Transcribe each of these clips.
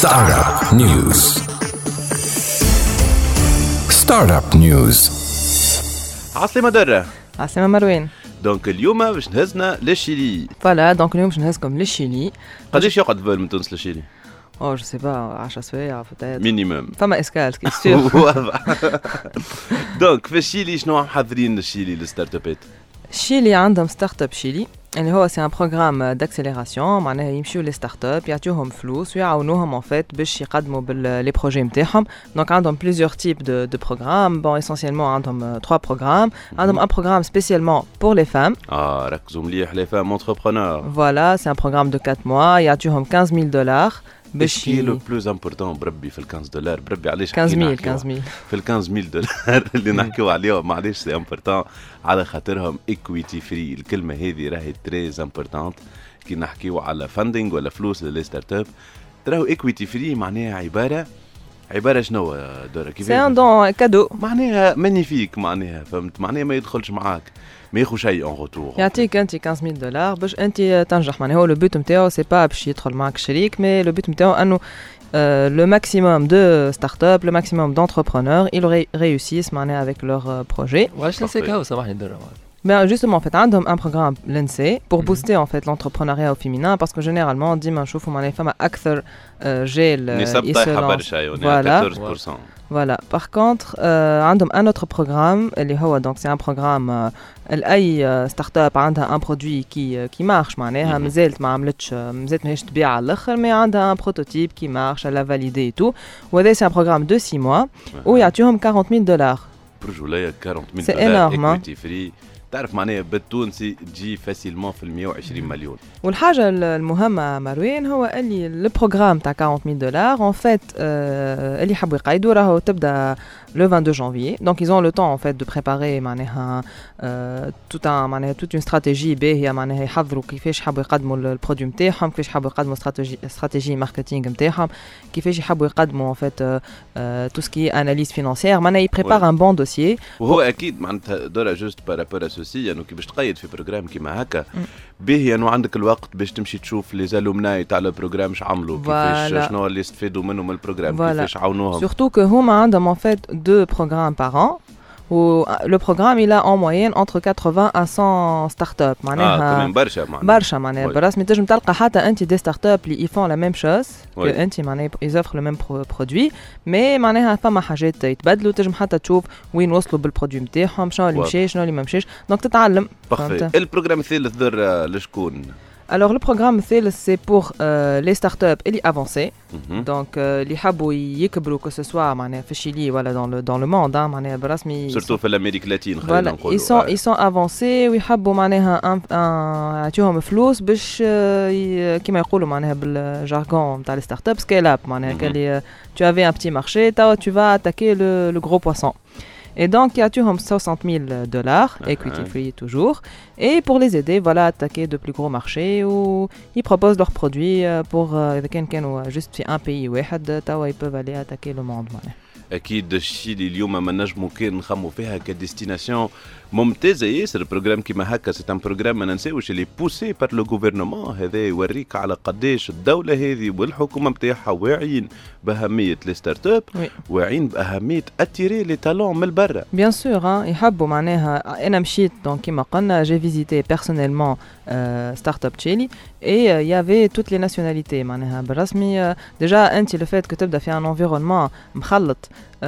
Startup News. Startup News. عاصمة درة. عاصمة مروان. دونك اليوم باش نهزنا للشيلي. فوالا دونك اليوم باش نهزكم للشيلي. قداش يقعد فول من تونس للشيلي؟ جو سي با 10 سوايع فتات مينيمم. فما اسكال كي سيغ. واضح. دونك في الشيلي شنو محضرين للشيلي للستارت ابات؟ الشيلي عندهم ستارت اب شيلي اللي هو سي ان بروغرام داكسيليراسيون، معناها يمشيو لي ستارت اب يعطيوهم فلوس ويعاونوهم ان فيت باش يقدموا باللي بروجي نتاعهم. دونك عندهم بليزيور تيب دو بروغرام. بون اسونسيالمون عندهم 3 بروغرام. عندهم ان بروغرام سبيسيالمون بور لي فام. ركزوا مليح لي فام انتربرونور. فوالا سي ان بروغرام دو 4 موا يعطيوهم $15,000 باش لو بلوز امبورطون بربي في $15 بربي علاش 15,000 في $15,000 اللي نحكيو عليهم معليش سي امبورطون على خاطرهم ايكويتي فري. الكلمه هذه راهي تريز امبورطونت كي نحكيو على فاندينغ ولا فلوس للي ستارت اب. تراو ايكويتي فري معناها عباره شنو دورة كيف سي ان دون كادو معناها مانيفيك معناها فهمت معناها ما يدخلش معاك ما ياخذ شيء اون روتور. يعطيك انت $15,000 باش انت تنجح. معناها هو لو بوت نتاعو سي با باش يدخل معك شريك، مي لو بوت نتاعو انه le maximum de startups, le maximum d'entrepreneurs, ils réussissent avec leur projet. واش نسيك هاو سامحني درة. Ben justement, en fait, عندهم un programme l'INSEE pour booster en fait l'entrepreneuriat au féminin, parce que généralement, ديما نشوفوا les femmes أكثر جيل نسب طايحة برشا voilà. 14%. Voilà. Par contre, عندهم un autre programme اللي هو donc c'est un programme أي start-up عندها un produit qui marche معناها مازالت ما عملتش مازالت ماهيش تبيع على الآخر، mais عندها un prototype qui marche, elle l'a validé et tout. وهذا c'est un programme de 6 mois où يعطيوهم $40,000. برجولية $40,000 C'est énorme. equity free. تعرف معناها بالتونسي تجي فاسيلمون في 120 مليون. والحاجة المهمة مروان هو اللي البروغرام تاع $40,000 en fait اللي حبوا يقيدوا راهو تبدا le 22 janvier. Donc ils ont le temps en fait de préparer معناها toute une stratégie باهية معناها يحضروا كيفاش حبوا يقدموا البرودوي نتاعهم، كيفاش حبوا يقدموا استراتيجي ماركتينغ نتاعهم، كيفاش يحبوا يقدموا en fait tout ce qui est analyse financière. معناها يبريبار un bon dossier. وهو اكيد معناتها دورة جوست بارابور اسوسي انه كي باش تقيد في بروجرام كيما هكا باهي انه عندك الوقت باش تمشي تشوف لي زالومناي تاع البروجرام اش عملوا كيفاش شنو اللي استفادوا منهم من البروجرام كيفاش عاونوهم. Surtout que هما عندهم en fait 2 programmes par an. où le programme il a en moyenne entre 80 à 100 startups. معناها برشا معناها برسمي تنجم تلقى حتى انت دي ستارت اللي يفون لا ميم شوز كو انت معناها يزوفر لو ميم برودوي، مي معناها فما حاجات يتبدلوا، تنجم حتى تشوف وين وصلوا بالبرودوي نتاعهم، شنو اللي مشى شنو اللي ما مشاش، دونك تتعلم. البروجرام الثالث ذر لشكون؟ Alors le programme c'est pour les startups et les avancés. Donc les حبوا يكبروا que ce soit معناها في الشيلي ولا dans le monde معناها برسمي surtout في الامريك اللاتين خلينا نقولوا ils sont avancés ويحبوا معناها يعطيوهم فلوس باش كما يقولوا معناها بالجارغون نتاع لي ستارت اب سكيل اب معناها كلي tu avais un petit marché tu vas attaquer le gros poisson. Et donc, il y a $60,000, equity free toujours. Et pour les aider, voilà, attaquer de plus gros marchés où ils proposent leurs produits pour juste un pays واحد توا ils peuvent aller attaquer le monde. اكيد الشيلي اليوم ما نجمو كان نخمو فيها كديستيناسيون ممتازه ياسر. بروجرام كيما هكا سي ان بروجرام ما ننساوش اللي بوسي بار لو غوفرنمون. هذا يوريك على قداش الدوله هذه والحكومه نتاعها واعيين باهميه لي ستارت اب، واعيين باهميه اتيري لي تالون من برا. بيان سور يحبوا معناها. انا مشيت دونك كيما قلنا جي فيزيتي بيرسونيلمون ستارت اب تشيلي اي يافي توت لي ناسيوناليتي معناها بالرسمي. ديجا انت لو فات كو تبدا في ان انفيرونمون مخلط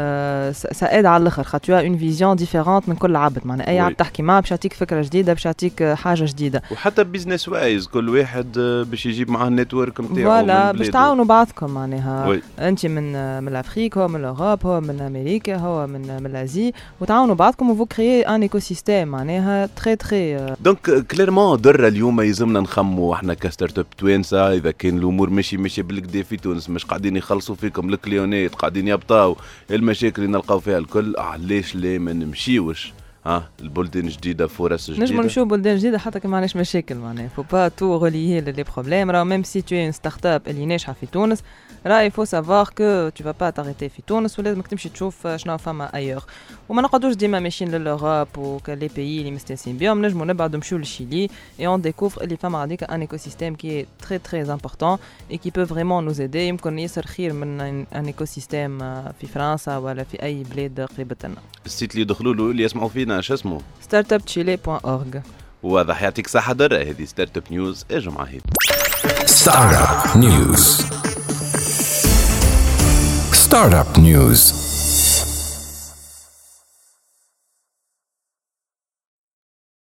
ساعد على الاخر خاطر تو اون فيزيون ديفيرونت من كل عبد معناها اي عبد تحكي معاه باش يعطيك فكره جديده باش يعطيك حاجه جديده. وحتى بيزنس وايز كل واحد باش يجيب معاه النتورك نتاعو فوالا باش تعاونوا بعضكم معناها. انت من الافريك، هو من اوروبا، هو من امريكا، هو من الازي، وتعاونوا بعضكم وفو كريي ان ايكو سيستيم معناها تري تري. دونك كليرمون درة اليوم يلزمنا نخموا احنا كستارت اب توانسه اذا كان الامور ماشي بالكدا في تونس مش قاعدين يخلصوا فيكم الكليونات قاعدين يبطاو المشاكل اللي نلقاو فيها الكل، علاش لا ما نمشيوش البلدان جديده فرص جديده. نجم نمشيو بلدان جديده حتى كي ما عندناش مشاكل معناها فو با تو غوليي لي بروبليم. راه ميم سي تو ان ستارت اب اللي ناجحه في تونس راه يفو سافوار كو تو با تاريتي في تونس ولازمك تمشي تشوف شنو فما ايور. وما نقعدوش ديما ماشيين للأوروب وكلي بيي اللي مستانسين بهم. نجمو نبعدو نمشيو للشيلي اي اون ديكوفر اللي فما غاديك ان ايكو سيستيم كي تري تري امبورطون اي كي بو فريمون نوز ايدي. يمكن ياسر خير من ان ايكو سيستيم في فرنسا ولا في اي بلاد قريبه لنا. السيت اللي يدخلوا له اللي يسمعوا فينا شو اسمه؟ startupchile.org. واضح. يعطيك صحة درة. هذه ستارت اب نيوز. اجوا معايا. ستارت اب نيوز. ستارت اب نيوز.